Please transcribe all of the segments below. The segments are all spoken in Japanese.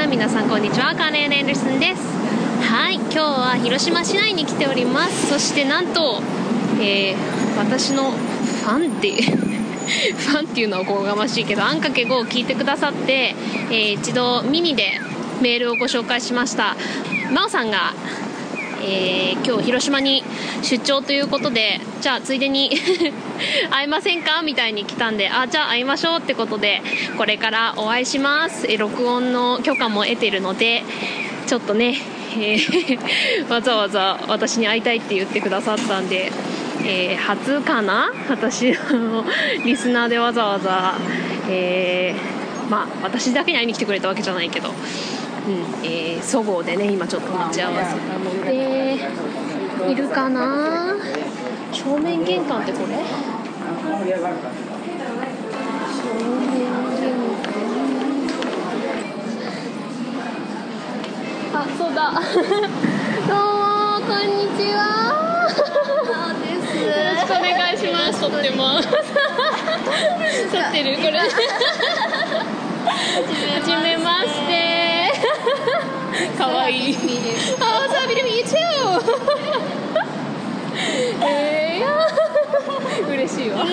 皆さんこんにちは、カーネル・エンデルソンです。はい、今日は広島市内に来ております。そしてなんと、私のファンってファンっていうのはおこがましいけど、あんかけ5を聞いてくださって、一度ミニでメールをご紹介しました。真央さんが今日広島に出張ということで、じゃあついでに会いませんかみたいに来たんで、じゃあ会いましょうってことで、これからお会いします。録音の許可も得てるので、ちょっとね、わざわざ私に会いたいって言ってくださったんで、初かな、私のリスナーでわざわざ、私だけに会いに来てくれたわけじゃないけど、そごうでね、今ちょっと待ち合わせたので、いるかな。正面玄関ってこれ？正面玄関。そうだ。どうもこんにちは。 そうです。 よろしくお願いします。とっても撮ってるこれ。はじめまして。かわいい。So happy to meet you too. 嬉しいわ。 私も嬉しいです。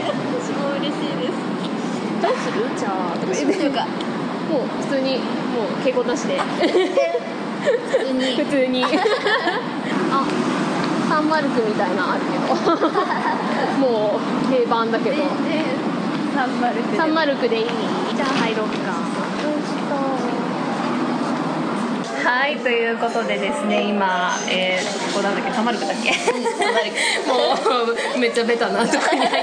どうする？じゃあとか言って、もう普通にもう敬語なしで。普通に。サンマルクみたいなのあるけど。もう定番だけど。 サンマルクでいい？ じゃあ入ろうか。はい、ということでですね、今、ここなんだっけ、サンマルクだっけ？もうめっちゃベタなとこに入って、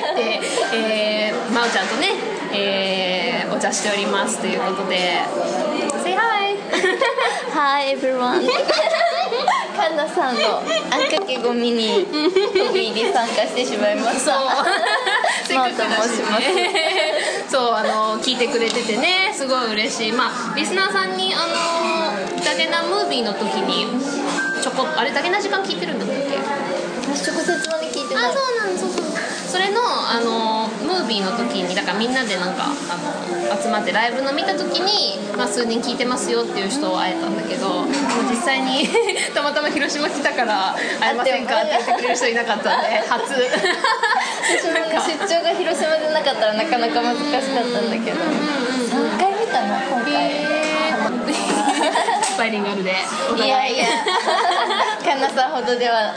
まおちゃんとね、お茶しておりますということで、Say hi! Hi everyone! カンナさんのあんかけごみに飛び入り参加してしまいました。 せっかくだしね。そう、聞いてくれててね、すごい嬉しい。リスナーさんにダゲナムービーの時にあれダゲナ時間聞いてるんだっけ？ 私直接まで聞いてない。 そうなんです。それのムービーの時に、だからみんなでなんか集まってライブの見た時に、数人聞いてますよっていう人を会えたんだけど、実際にたまたま広島来たから会えませんかって言ってくれる人いなかったんで初。 私もね、出張が広島でなかったらなかなか難しかったんだけど、3回見たの今回。 バイリンガルで。 いやいや、カンナさんほどでは。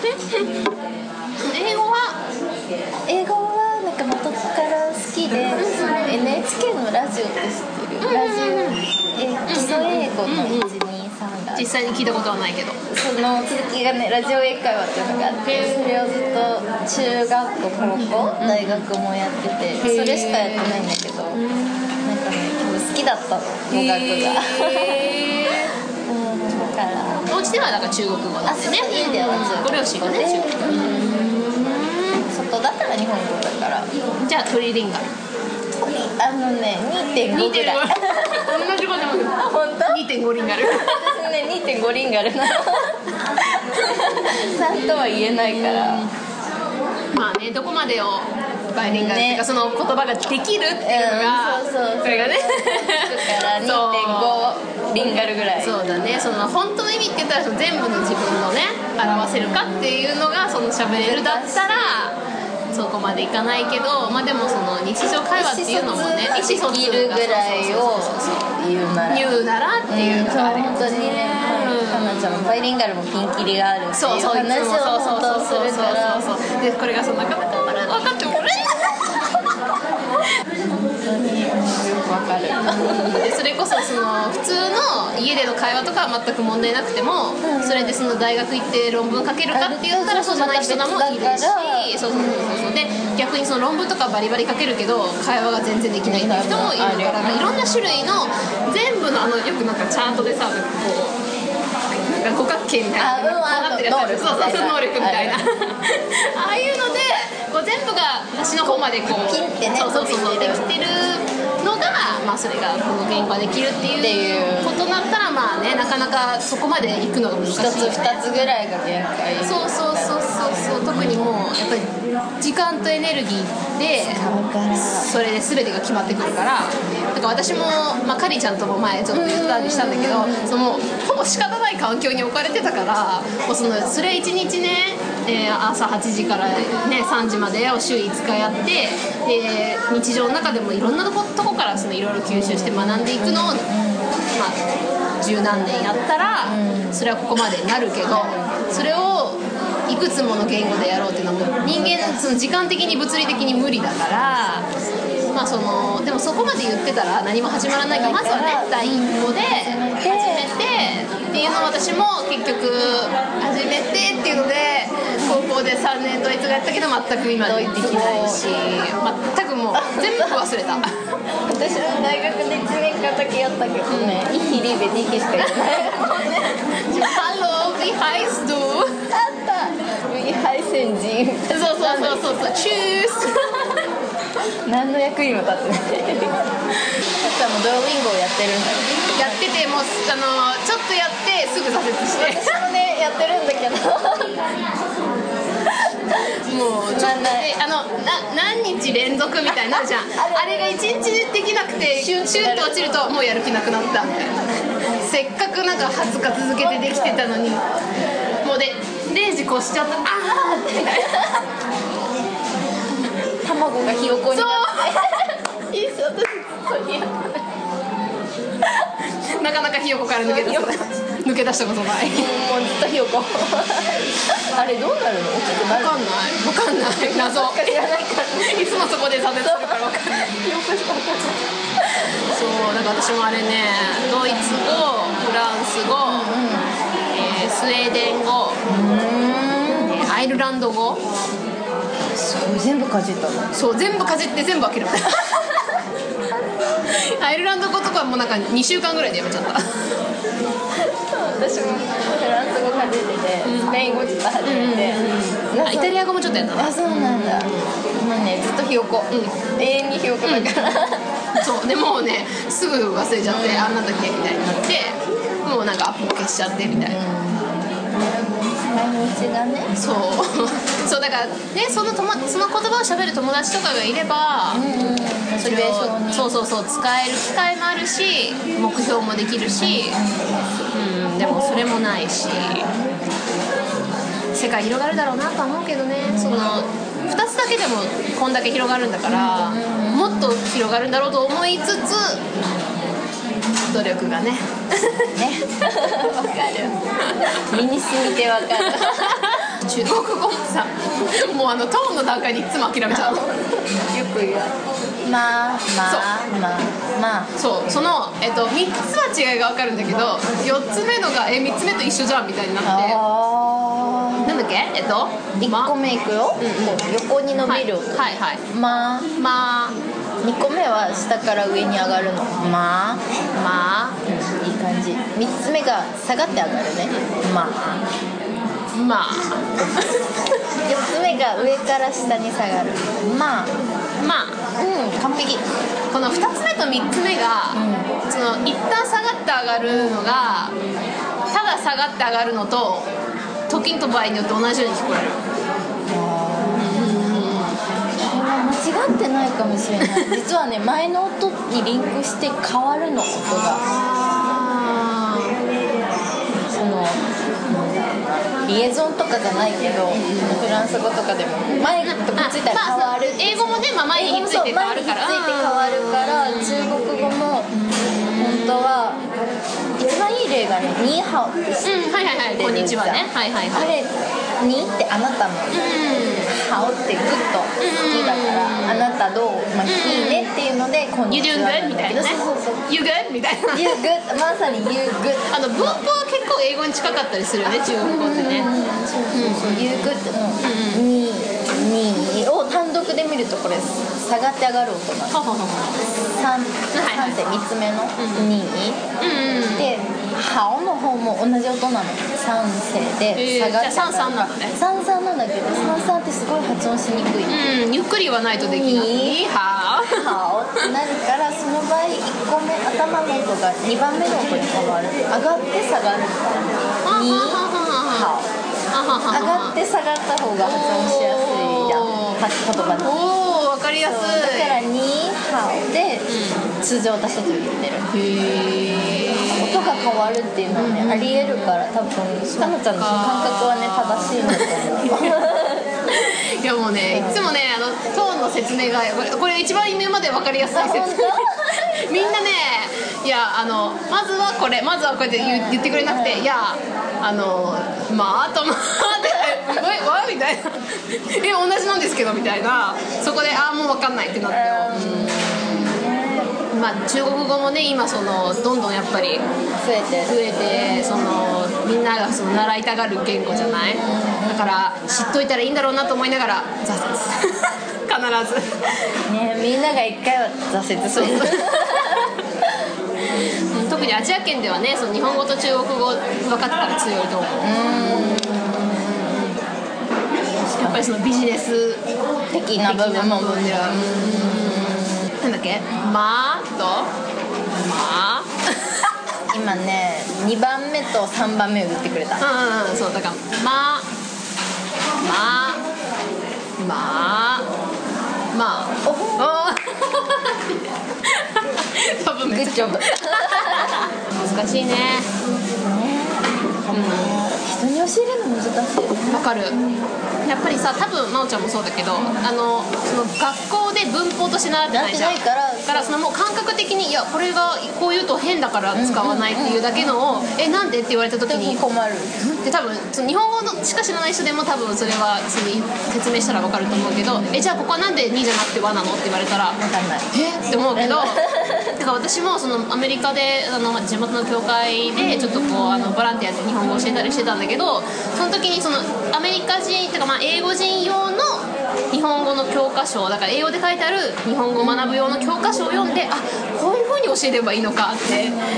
英語はなんか元から好きで、NHK のラジオって知ってる？ラジオ、基礎英語の123が実際に聞いたことはないけど、 その続きがね、ラジオ英会話っていうのがあって、それをずっと中学校、高校、大学もやってて、それしかやってないんだけど、なんかね、多分好きだったの、語学が。だからお家ではだから中国語なんでね。 家ではご両親がね、中国語。 外だったら日本語だから。 じゃあトリリンガル。 2.5 ぐらい。 同じことでも。 本当 ？2.5リンガル。 私ね、2.5リンガルなの。3とは言えないから。 どこまでをバイリンガルっていうか、その言葉ができるっていうのが、それがね。 だから2.5リンガルぐらい。 そうだね。その本当の意味って言ったら、その全部の自分のね表せるかっていうのが、その喋れるだったらそこまでいかないけど、でもその日常会話っていうのもね、意思疎通るぐらいを言うならっていうのがある。 本当にね、かなちゃんもバイリンガルもピンキリがあるっていう話を本当するから、 でこれがなかなか分かってもらえない。 本当によくわかる。 でそれこそ、その普通の家での会話とかは全く問題なくても、それでその大学行って論文書けるかって言ったらそうじゃない人もいるし、で逆にその論文とかバリバリ書けるけど会話が全然できないっていう人もいるから、いろんな種類の全部のよくなんかチャートでさ、こう五角形みたいなこうなってるやつ、能力みたいなああいうのでこう全部が私の方までこうピンってね、 できてるってのが、まあ、それがこの言語ができるっていうことだったらまあね、なかなかそこまで行くのが難しいよね。 1つ2つぐらいが限界。 そう特にもうやっぱり時間とエネルギーでそれで全てが決まってくるから、だから私も、まあ、カリーちゃんとも前ちょっと言ったりしたんだけど、そのほぼ仕方ない環境に置かれてたから、もうそれ1日ね、朝8時から、ね、3時までを週5日やって、で日常の中でもいろんなとこからいろいろ吸収して学んでいくのを、まあ、十何年やったらそれはここまでになるけど、それをいくつもの言語でやろうっていうのはもう人間その時間的に物理的に無理だから、まあ、でもそこまで言ってたら何も始まらないから、まずはね第一歩で始めてっていうのを私も結局始めてっていうので高校で3年ドイツ語やったけど全く今できないし、全くもう全部忘れた。 私も大学で1年間だけやったけどね、イヒリベニキしか言ってない。 Hallo, wie heißt du? あった、wie heißen Sie? そうチュース。 何の役にも立ってない。さんもドロリンゴをやってるんだよ。 やっててもうちょっとやってすぐ挫折して。 私もねやってるんだけどもうちょっと何日連続みたいになるじゃん。あれが1日できなくてシュンと落ちるともうやる気なくなったみたいな。せっかくなんか20日続けてできてたのにもうで0時越しちゃった。あーって卵がひよこになっていいっす、私ずっとやなかなかひよこから抜け出したことない。 もうずっとひよこあれどうなるの？大きくなるの？ 分かんない謎知らないからいつもそこで挫折するから分かんない。そうだから私もあれね、ドイツ語、フランス語、スウェーデン語、アイルランド語、 すごい全部かじったの？ そう全部かじって全部諦めたアイルランド語とかもなんか2週間ぐらいでやめちゃった。 私もフランス語かじってて、スペイン語ちょっと始めて、 イタリア語もちょっとやったな。 あ、そうなんだ。今ねずっとひよこ、永遠にひよこだから、 そうでもうねすぐ忘れちゃって、あんなんだっけみたいになって、もうなんかアップ消しちゃってみたいな。 毎日がね。 そうだからね、その言葉を喋る友達とかがいれば、それをそう使える機会もあるし、目標もできるし、でもそれもないし、世界広がるだろうなとは思うけどね。その2つだけでもこんだけ広がるんだから、もっと広がるんだろうと思いつつ努力がねわかる身に染みてわかる中国語もさ、もうトーンの段階にいつも諦めちゃうよく言うまあそうその、3つは違いが分かるんだけど、4つ目のが3つ目と一緒じゃんみたいになって、なんだっけ 1個目いくよ、横に伸びる、 はいまあ2個目は下から上に上がるの、まあ、いい感じ。3つ目が下がって上がるね、まあ4つ目が上から下に下がる、完璧。 この2つ目と3つ目が、その一旦下がって上がるのがただ下がって上がるのと時と場合によって同じように聞こえる。 間違ってないかもしれない実はね、前の音にリンクして変わるの、音が。そのリエゾンとかじゃないけど、フランス語とかでも前とくっついたら変わる、 英語もね、前にひっついて変わるから、 中国語も本当は一番いい例がね、ニーハオって知ってる、 こんにちはね、 あれニーってあなたの、ハオってグッと好きだから、あなたどう、いいねっていうのでこんにちは You doing good? みたいなね。You good? みたいな。 You good? まさに You good。 文法は結構英語に近かったりするよね、中国語ってね。 You good のに 2を単独で見るとこれ下がって上がる音なんです。3って3つ目の2、でハオの方も同じ音なの。3声で下がって上がる。 3-3なのね。 3-3なんだけど3-3ってすごい発音しにくい。 ゆっくりはないとできない。 ハオってなるから、その場合1個目頭の音が2番目の音に変わる。上がって下がる。2ハオ。上がって下がった方が発音しやすいじゃん、言葉で。 おお、分かりやすい。 だから2ハオで通常私たちを言ってる。音が変わるっていうのはね、ありえるから、多分かのちゃんの感覚はね正しいんだと思う。 いやもうね、いつもねトーンの説明がこれ一番今まで分かりやすい説明。みんなね、いやまずはこれって言ってくれなくて、いやまあとまあってわみたいな同じなんですけどみたいな、そこでもう分かんないってなって、まあ中国語もね今どんどんやっぱり増えてみんなが習いたがる言語じゃない。だから知っといたらいいんだろうなと思いながら挫折必ずね、みんなが一回は挫折する。 特にアジア圏ではね、日本語と中国語分かってたら強いと思う。やっぱりビジネス的な部分もなんだっけ、まーとまー今ね2番目と3番目を言ってくれた。 そうだからまー多分めっちゃグッジョブ。 難しいね。 人に教えるの難しいよね。 わかる。やっぱりさ、多分真央ちゃんもそうだけど、学校で文法として習ってないじゃん。だからもう感覚的に、いやこれがこう言うと変だから使わないっていうだけのを、なんでって言われた時に困るで、多分日本語しか知らない人でも多分それは説明したら分かると思うけど、じゃあここはなんで2じゃなくて和なのって言われたら分かんないって思うけどだから私もアメリカで地元の教会でちょっとボランティアで日本語を教えたりしてたんだけど、その時にアメリカ人っていうか、英語人用の日本語の教科書だから、英語で書いてある日本語を学ぶ用の教科書を読んで、こういう風に教えればいいのかって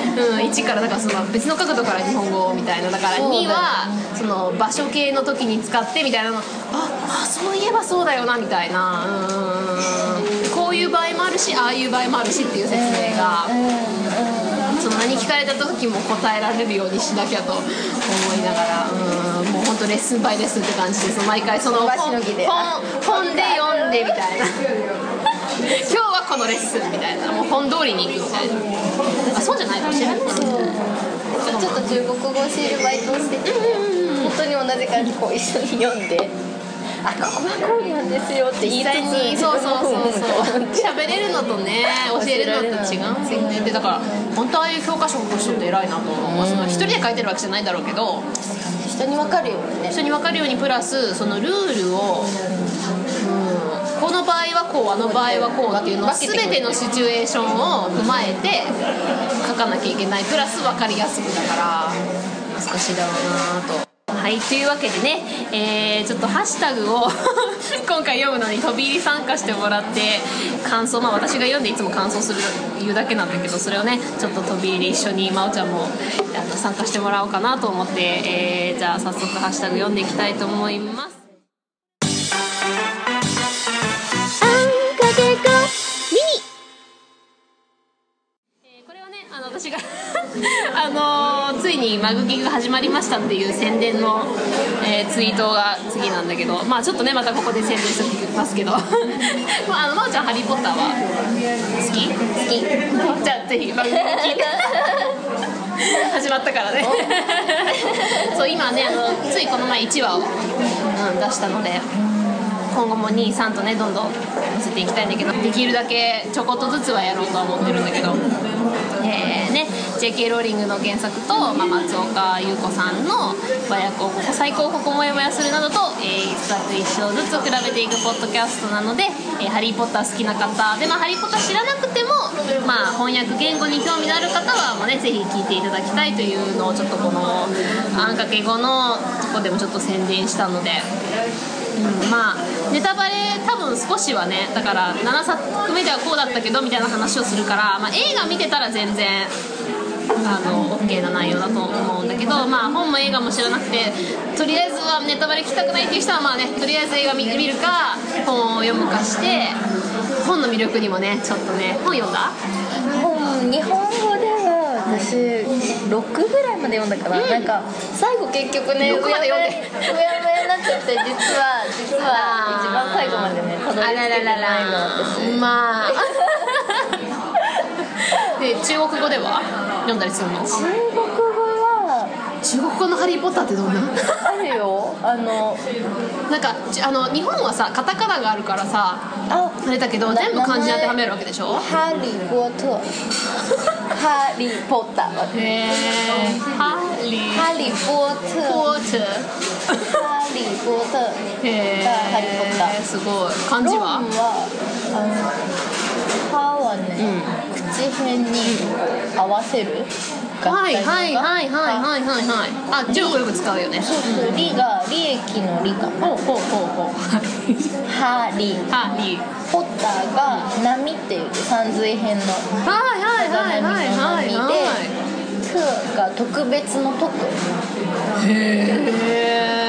、1からだから別の角度から日本語みたいな、だから2は場所系の時に使ってみたいなの、そういえばそうだよなみたいな、こういう場合もあるしああいう場合もあるしっていう説明が、何聞かれた時も答えられるようにしなきゃと思いながら、もう本当レッスンバイレッスンって感じで、毎回本で読んでみたいな今日はこのレッスンみたいな、もう本通りに行くみたいな。そうじゃないかもしれないですね。 ちょっと中国語を教えるバイトをしてて、本当に同じ感じこう一緒に読んで、ここはこうなんですよって言いつつ、 そう喋れるのとね教えるのと違うんですよね。でだから本当ああいう教科書を書く人って偉いなと思います。一人で書いてるわけじゃないだろうけど、 人に分かるようにね、 人に分かるようにプラスルールを、この場合はこう、場合はこうっていうのを全てのシチュエーションを踏まえて書かなきゃいけない、プラス分かりやすくだから難しいだろうなと。はい、というわけでね、ちょっとハッシュタグを今回読むのに飛び入り参加してもらって感想、私が読んでいつも感想する言うだけなんだけど、それをねちょっと飛び入り一緒に真央ちゃんも参加してもらおうかなと思って、じゃあ早速ハッシュタグ読んでいきたいと思います。これはね私がついにマグギが始まりましたっていう宣伝の、ツイートが次なんだけど、ちょっとねまたここで宣伝しておきますけど真央ちゃんハリーポッターは好き？好き。じゃあぜひマグギを聞いて始まったからねそう今ねついこの前1話を、出したので、今後も2、3とねどんどん載せていきたいんだけど、できるだけちょこっとずつはやろうとは思ってるんだけど、JK ローリングの原作と、松岡優子さんの和訳を最高ここもやもやするなどと、一作一章ずつ比べていくポッドキャストなので、ハリーポッター好きな方で、ハリーポッター知らなくても、翻訳言語に興味のある方はぜひ聞いていただきたいというのをちょっとこのあんかけ語のとこでもちょっと宣伝したので、 まあネタバレ多分少しはね、だから7作目ではこうだったけどみたいな話をするから、まあ、映画見てたら全然OK な内容だと思うんだけど、まあ本も映画も知らなくて、とりあえずはネタバレ聞きたくないっていう人はまあね、とりあえず映画見るか本を読むかして、本の魅力にもねちょっとね。本読んだ？ 日本語では私6ぐらいまで読んだから、なんか最後結局ね 6まで読んでうやむやになっちゃって、実は一番最後までねたどり着けてないの私。 まあで中国語では読んだりするの？ 中国語は中国語のハリーポッターってどんな？ あるよ。 なんか日本はさカタカナがあるからさあれだけど、全部漢字に当てはめるわけでしょ。 ハリーポッターハリーポッター。 へえ。ハリーポッターハリーポッター。 へえ。 ハリーポッター。 すごい。漢字は？ ロンは歯はね、口辺に合わせる。 はいはいはいはいはいはいはい。あ、中国よく使うよね。 そうそう。リが利益の利かな。 ほうほうほうほう。 ハリーポッターが波っていう山水編のはいはいはいはいはい波で、トが特別の特。 へえ。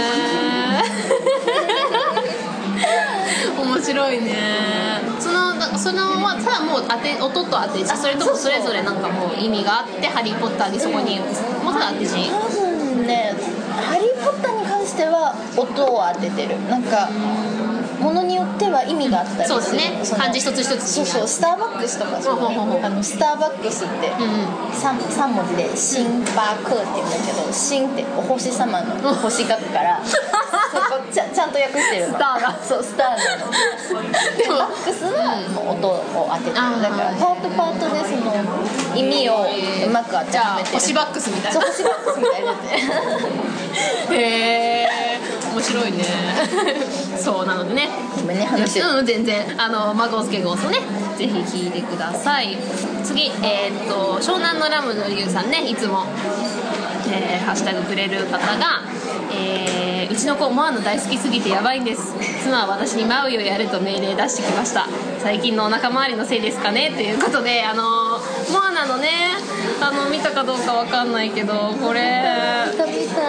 面白いね。そのはただもう音と当て字、それともそれぞれなんかもう意味があってハリーポッターにそこにもうただ当て字？ 多分ね、ハリーポッターに関しては音を当ててる。なんかものによっては意味があったりする。 そうですね。漢字一つ一つ。 そうそう。スターバックスとかそうね。スターバックスって 3文字でシンバークって言うんだけど、シンってお星様の星書くからそこちゃんと訳してるの。 スターがそうスターなの。でバックスはもう音を当ててる。だからパートでその意味をうまく当てはめてる。 星バックスみたいな。 そう星バックスみたいなやつ。 へえ。面白いね。そうなのでね。 ごめんね話。 全然マゴスケゴースをねぜひ聞いてください。次湘南のラムのリュウさんね、いつも、ハッシュタグくれる方が、うちの子モアナ大好きすぎてやばいんです。妻は私にマウイをやれと命令出してきました。最近のお腹周りのせいですかねということで、モアナのね見たかどうかわかんないけど、これ見たかわいいよね。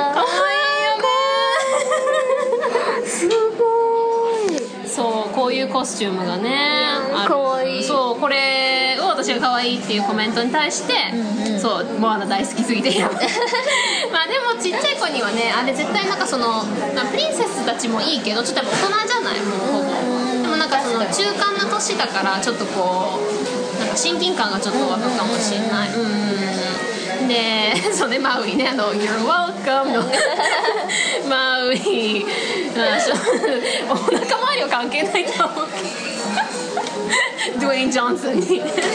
すごい。 そうこういうコスチュームがねある。 かわいい。 そうこれを私が可愛いっていうコメントに対して、そうモアナ大好きすぎてやばいまあでもちっちゃい子にはねあれ絶対なんかそのプリンセスたちもいいけどちょっとやっぱ大人じゃない、もうほぼ。でもなんかその中間な年だからちょっとこうなんか親近感がちょっと湧くかもしれない。でそうね、マウイねYou're welcome のマウイお腹周りは関係ないと思うけどドゥエイン・ジョンソンに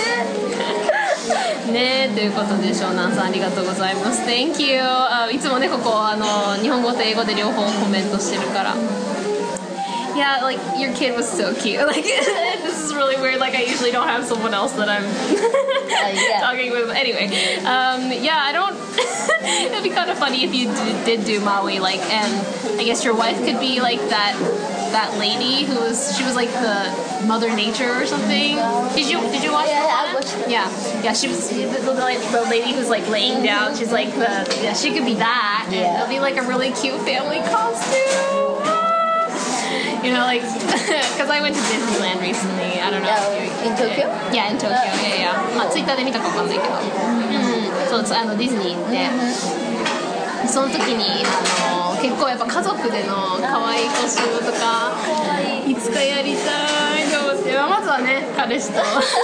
ね。ということで湘南さんありがとうございます。 Thank you。 いつもねここ日本語と英語で両方コメントしてるから。Yeah, like your kid was so cute. Like this is really weird. Like I usually don't have someone else that I'm talking with. Anyway, yeah, I don't. It'd be kind of funny if you did do Maui, like, and I guess your wife could be like that lady she was like the Mother Nature or something. Did you watch? Yeah, I watched it. Yeah, she was the lady who's like laying down. She's like she could be that. Yeah. It'll be like a really cute family costume. You know, like, because I went to Disneyland recently. I don't know. In Tokyo? Yeah, in Tokyo. Yeah. まあツイッターで見たかわかんないけど。そうディズニー行って、その時に結構やっぱ家族での可愛いコスチュームとかいつかやりたいと思って、まずはね彼氏と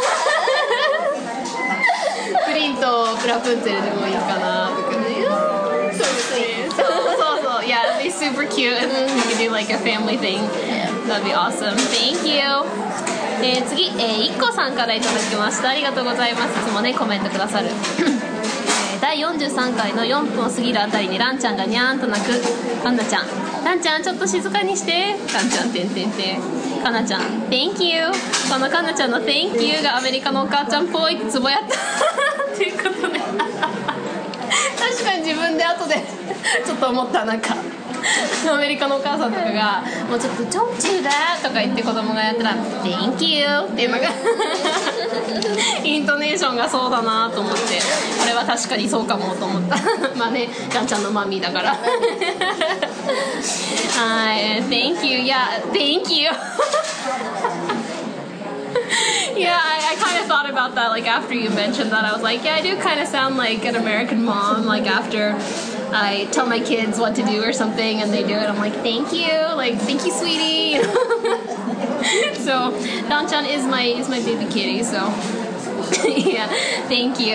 プリンとプラプンツェルでもいいかなとかね。そうですね。そう。Yeah, it'd be super cute and we could do like a family thing. That'd be awesome. Thank you. 次、IKKOさんからいただきました。ありがとうございます。いつもねコメントくださる第43回の4分を過ぎるあたりにランちゃんがニャーンと泣く。カンナちゃん、ランちゃんちょっと静かにして。ランちゃんてんてんてん。カナちゃん Thank you。 このカナちゃんの Thank you がアメリカのお母ちゃんっぽいツボやったっていうことで確かに自分で後でちょっと思った。なんかアメリカのお母さんとかがもうちょっと「Don't do that」とか言って子供がやったら「Thank you」っていうのがイントネーションがそうだなと思って、これは確かにそうかもと思ったまあね、ガンちゃんのマミーだからはい、Thank you, yeah, thank you Yeah, I kind of thought about that, like, after you mentioned that. I was like, yeah, I do kind of sound like an American mom, like, after I tell my kids what to do or something and they do it, I'm like, thank you, like, thank you, sweetie So, Dan-chan is my baby kitty, so yeah, thank you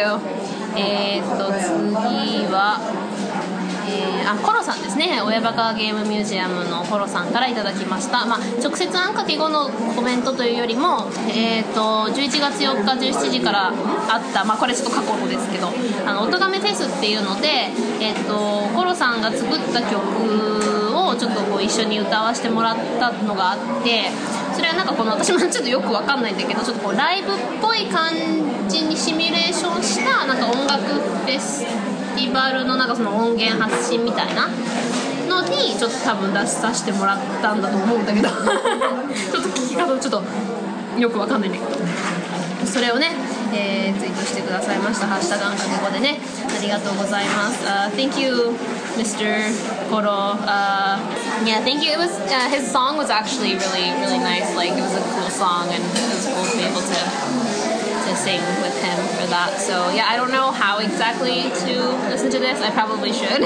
次はコロさんですね、親バカゲームミュージアムのコロさんからいただきました、直接あんかけ後のコメントというよりも、11月4日17時からあった、これちょっと過去のですけどおとがめフェスっていうので、コロさんが作った曲をちょっとこう一緒に歌わせてもらったのがあって、それはなんかこの私もちょっとよくわかんないんだけど、ちょっとこうライブっぽい感じにシミュレーションしたなんか音楽フェスフェスティバルのなんかその音源発信みたいなのにちょっと多分出させてもらったんだと思うんだけどちょっと聞き方ちょっとよくわかんないんだけど、それをね、ツイートしてくださいました。ハッシュタグあんかけ語でね、ありがとうございます。Thank you, Mr. Koro. Yeah, thank you. It was his song was actually really, really nice. Like it was a cool song, and it was cool to be able to sing with him for that. So yeah, I don't know how exactly to listen to this. I probably should.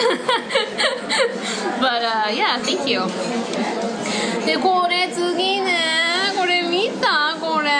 But yeah, thank you. でこれ次ね、これ見た？これ。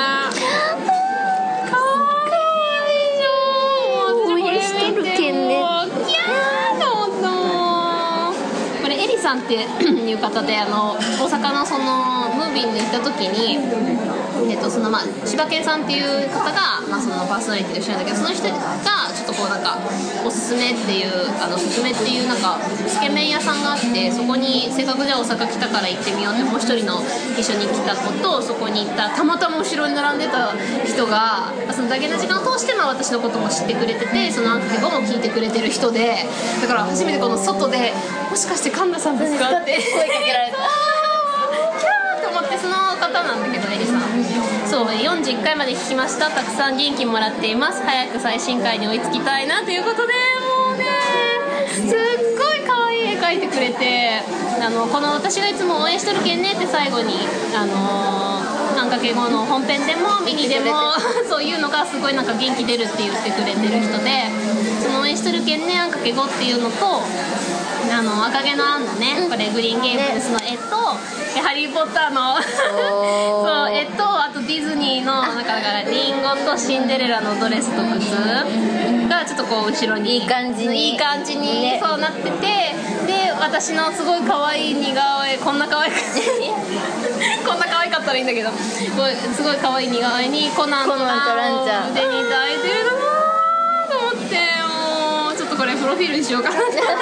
さんっていう方で大阪のそのムービーに行った時に、その柴犬さんっていう方が、そのパーソナリティで一緒なんだけど、その人がちょっとこうなんかおすすめっていうおすすめっていうなんかつけ麺屋さんがあって、そこにせっかくじゃあ大阪来たから行ってみようってもう一人の一緒に来た子とそこに行ったたまたま後ろに並んでた人がそのだけの時間を通して私のことも知ってくれてて、そのアンケートも聞いてくれてる人で、だから初めてこの外でもしかして神田さんですかって声かけられたキャーと思って、その方なんだけどエリさん、そう41回まで聞きました、たくさん元気もらっています、早く最新回に追いつきたいなということで、もうねすっごい可愛い絵描いてくれて、この私がいつも応援しとるけんねって最後にあんかけ後の本編でもミニでもそういうのがすごいなんか元気出るって言ってくれてる人で、その応援しとるけんねあんかけ後っていうのと赤毛のアンのね、これグリーンゲームズの絵とハリー・ポッターのそう絵と、あとディズニーのなんかだからリンゴとシンデレラのドレスと靴がちょっとこう後ろにいい感じにね、そうなってて、で私のすごい可愛い似顔絵、こんな可愛くこんな可愛かったらいいんだけど、すごい可愛い似顔絵にコナンとランちゃん腕に抱いてるなと思って、もうちょっとこれプロフィールにしようかな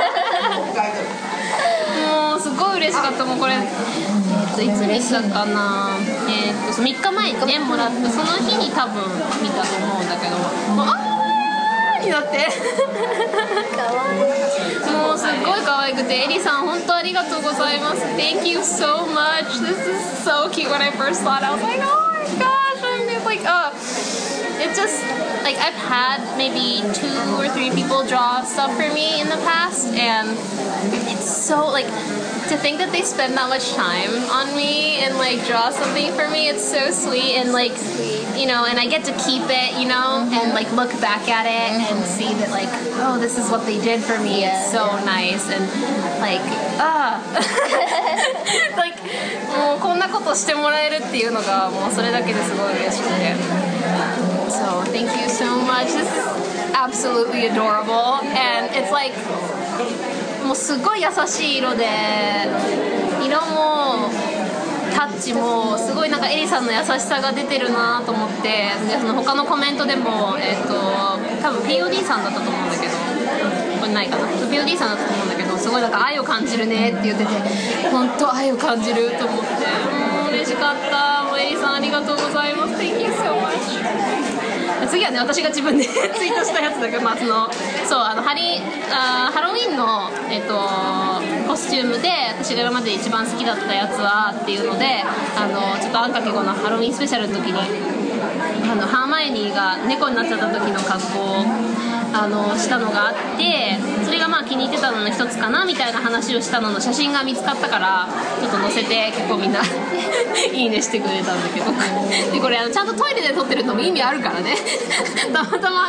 もうすごい嬉しかった。もうこれいつ見たかな、3日前にねもらったその日に多分見たと思うんだけど、もうあーになってかわいい、もうすっごい可愛くて、エリさん本当ありがとうございます。 Thank you so much. This is so cute. When I first saw it I was like, oh my gosh, I'm like it just like I've had maybe 2 or 3 people draw stuff for me in the past, and it's so like to think that they spend that much time on me and like draw something for me. It's so sweet, and like you know, and I get to keep it, you know, and like look back at it and see that like, oh, this is what they did for me. It's so nice, and like like もうこんなことしてもらえるっていうのがもうそれだけですごい嬉しくて。So thank you so much. This is absolutely adorable, and it's like もうすごい優しい色で、色もタッチもすごいなんかエリさんの優しさが出てるなと思って、でその他のコメントでも多分 POD さんだったと思うんだけど、これないかな、 POD さんだったと思うんだけど、すごいなんか愛を感じるねって言ってて、本当愛を感じると思って、もう嬉しかった。もうエリさんありがとうございます。 Thank you so much. 次はね私が自分でツイートしたやつだけど、まあ、そうハロウィンの、コスチュームで私が今まで一番好きだったやつはっていうのでちょっとあんかけ後のハロウィンスペシャルの時にハーマイオニーが猫になっちゃった時の格好をしたのがあって、それがまあ気に入ってたのの一つかなみたいな話をしたのの写真が見つかったからちょっと載せて結構みんないいねしてくれたんだけどでこれちゃんとトイレで撮ってるのも意味あるからねたまたま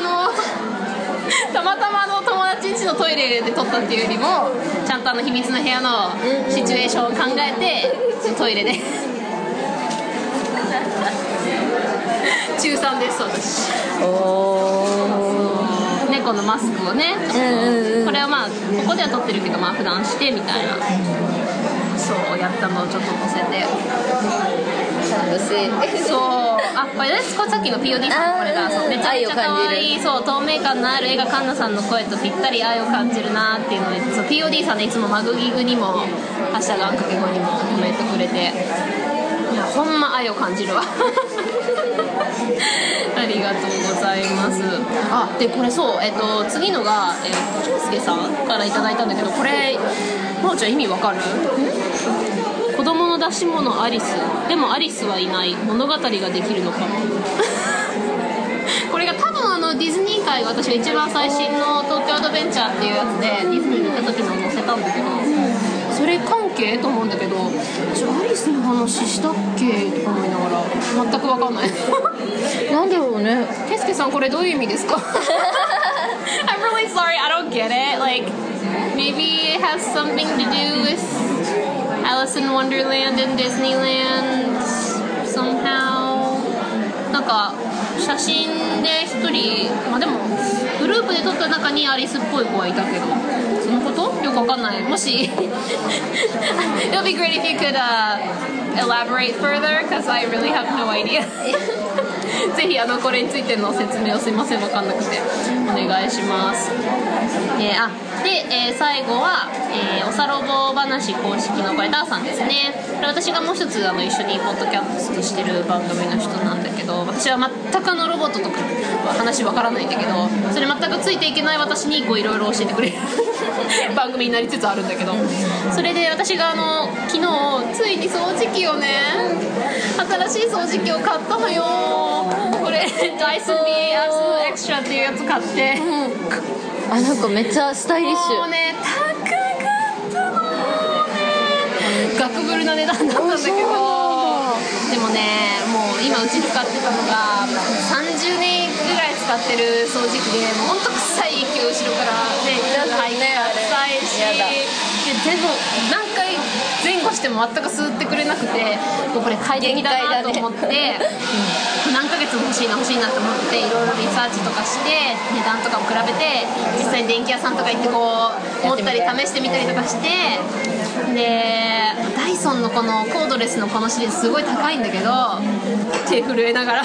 友達ん家のトイレで撮ったっていうよりもちゃんと秘密の部屋のシチュエーションを考えてトイレで中3です私。猫のマスクをね、これはまあここでは撮ってるけどまあ普段してみたいな、そうやったのをちょっと載せてそうこれですさっきの POD さんのこれがそうめちゃめちゃ可愛いそう透明感のある絵がカンナさんの声とぴったり愛を感じるなっていうのでそう POD さんねいつもマグギグにもハッシュタグあんかけ後にもコメントくれていやほんま愛を感じるわありがとうございます。でこれそう、次のがケンスケさんからいただいたんだけどこれまおちゃん意味わかる？子供の出し物アリスでもアリスはいない物語ができるのかなこれが多分ディズニー界が私が一番最新の東京アドベンチャーっていうやつでディズニーに行った時の載せたんだけどそれ関係と思うんだけどアリスの話したっけとか思いながら全く分かんないなんだろうね。 ケスケさんこれどういう意味ですかI'm really sorry I don't get it like maybe it has something to do with Alice in Wonderland and Disneyland somehow なんか写真で一人まあでもグループで撮った中にアリスっぽい子はいたけどそのことよくわかんないもしIt would be great if you could elaborate further because I really have no idea ぜひこれについての説明をすいませんわかんなくてお願いしますで、最後は、おさろぼ話公式のこれダーさんですね私がもう一つ一緒にポッドキャストしてる番組の人なんだけど私は全くロボットとか話わからないんだけどそれ全くついていけない私にいろいろ教えてくれる番組になりつつあるんだけどそれで私が昨日ついに掃除機をね新しい掃除機を買ったのよこれダイソン BS エクストラっていうやつ買って、 なんかめっちゃスタイリッシュもうね高かったのね額ぶるな値段だったんだけどでもねもう今うち使ってたのが30年ぐらい使ってる掃除機でもうほんと臭い息を後ろからね入って臭いしでも何回前後しても全く吸ってくれなくてもうこれ快適だなと思って、何ヶ月も欲しいなと思っていろいろリサーチとかして値段とかも比べて実際に電気屋さんとか行ってこう持ったり試してみたりとかしてでダイソンのこのコードレスのこのシリーズすごい高いんだけど手震えながら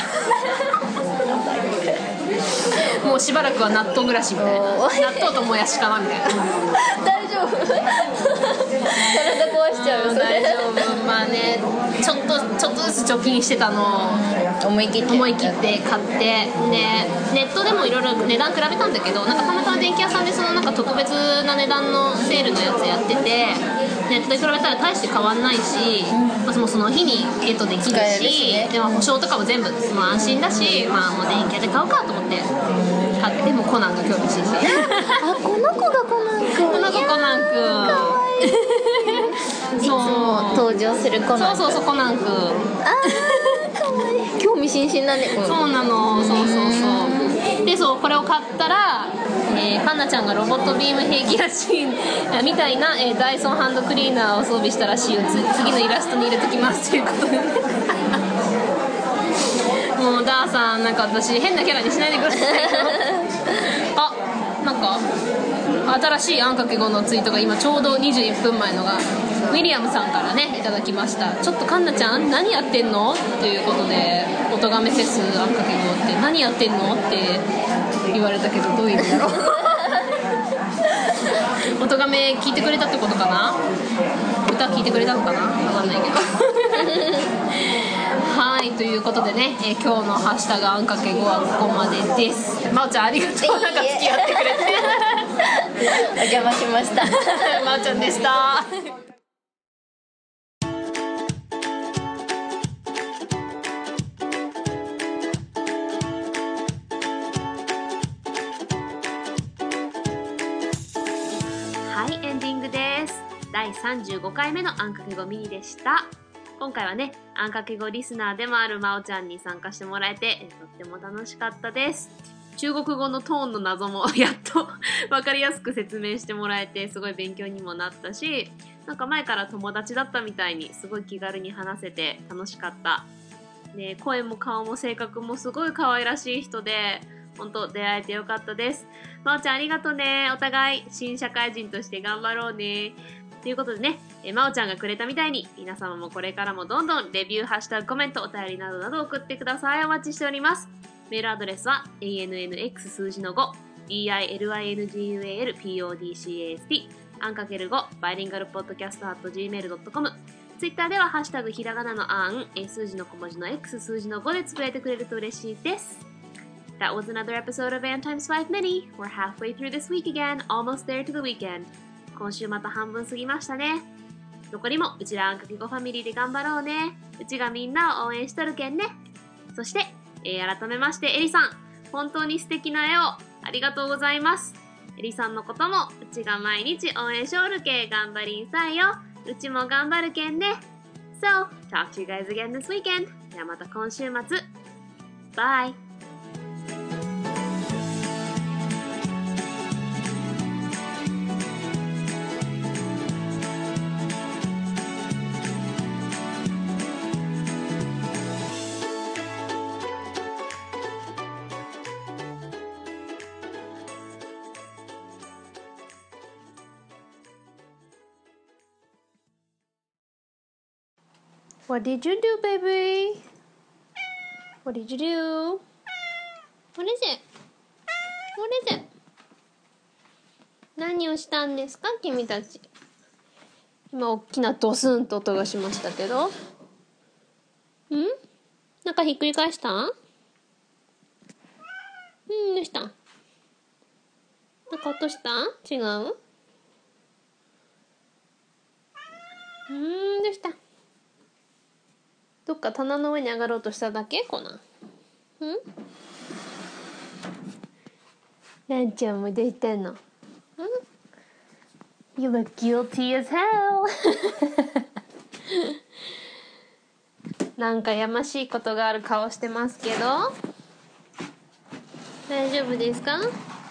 もうしばらくは納豆暮らしみたいな納豆ともやしかなみたいな大丈夫体壊しちゃうよそれ大丈夫まあねちょっとずつ貯金してたのを思い切って買ってでネットでもいろいろ値段比べたんだけどなんかたまたま電気屋さんでそのなんか特別な値段のセールのやつやっててネットで比べたら大して変わんないし、まあ、その日にゲットできるし、でも保証とかも全部、まあ、安心だし、まあ、もう電気屋で買おうかと思って買ってもコナンが興味津々 この子がコナンくんこの子コナンくんいつも登場するコナンくんそうコナンくんかわいい興味津々だねそうなのそうでこれを買ったらカンナちゃんがロボットビーム兵器らしいみたいな、ダイソンハンドクリーナーを装備したらしいよ次のイラストに入れときますということでもうダーさんなんか私変なキャラにしないでくださいなんか新しいあんかけ後のツイートが今ちょうど21分前のがウィリアムさんからねいただきました。ちょっとカンナちゃん何やってんのということでおとがめフェスあんかけ後って何やってんのって言われたけどどういう意味だろうおとがめ聞いてくれたってことかな歌聞いてくれたのかな分かんないけどはいはいということでね、今日のハッシュタグあんかけ5はここまでです。まおちゃんありがとう、なんか付き合ってくれてお邪魔しましたまおちゃんでした。はい、エンディングです。第35回目のあんかけ語ミニでした。今回はね、あんかけ語リスナーでもあるまおちゃんに参加してもらえて、とっても楽しかったです。中国語のトーンの謎もやっと分かりやすく説明してもらえて、すごい勉強にもなったし、なんか前から友達だったみたいにすごい気軽に話せて楽しかった。ね、声も顔も性格もすごい可愛らしい人で、本当出会えてよかったです。まおちゃんありがとうね。お互い新社会人として頑張ろうね。ということでね、まおちゃんがくれたみたいに皆様もこれからもどんどんレビュー、ハッシュタグ、コメント、お便りなどなど送ってください。お待ちしております。メールアドレスは ANNX 数字の5 BILINGUALPODCAST あんかける5バイリンガルポッドキャスト .gmail.com。 ツイッターではハッシュタグひらがなのあん、数字の小文字の X 数字の5でつぶやいてくれると嬉しいです。That was another episode of Ann Times 5 Mini. We're halfway through this week again, almost there to the weekend. 今週また半分過ぎましたね。残りもうちらあんかけ5ファミリーで頑張ろうね。うちがみんなを応援しとるけんね。そして、改めましてエリさん、本当に素敵な絵をありがとうございます。エリさんのこともうちが毎日応援しおるけ頑張りんさいよ。うちも頑張るけんね。So, talk to you guys again this weekend. ではまた今週末。Bye! What did you do, baby? What did you do? What is it? What is it? 何をしたんですか、君たち。今大きなドスンと音がしましたけど。なんかひっくり返したん？どうしたん？なんか落としたん？違う？どうした？どっか棚の上に上がろうとしただけ？こな。ランちゃんもどうしたの？You look guilty as hell なんかやましいことがある顔してますけど、大丈夫ですか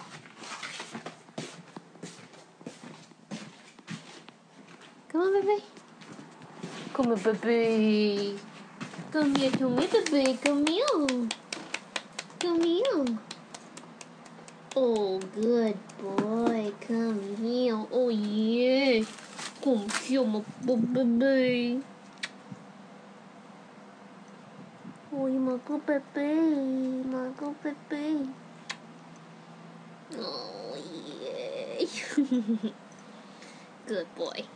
？Come on, baby. Come on, baby. Come here, come here, baby. Come here. Come here. Oh, good boy. Come here. Oh, yeah. Come here, my baby. Oh, my good baby. My good baby. Oh, yeah. Good boy.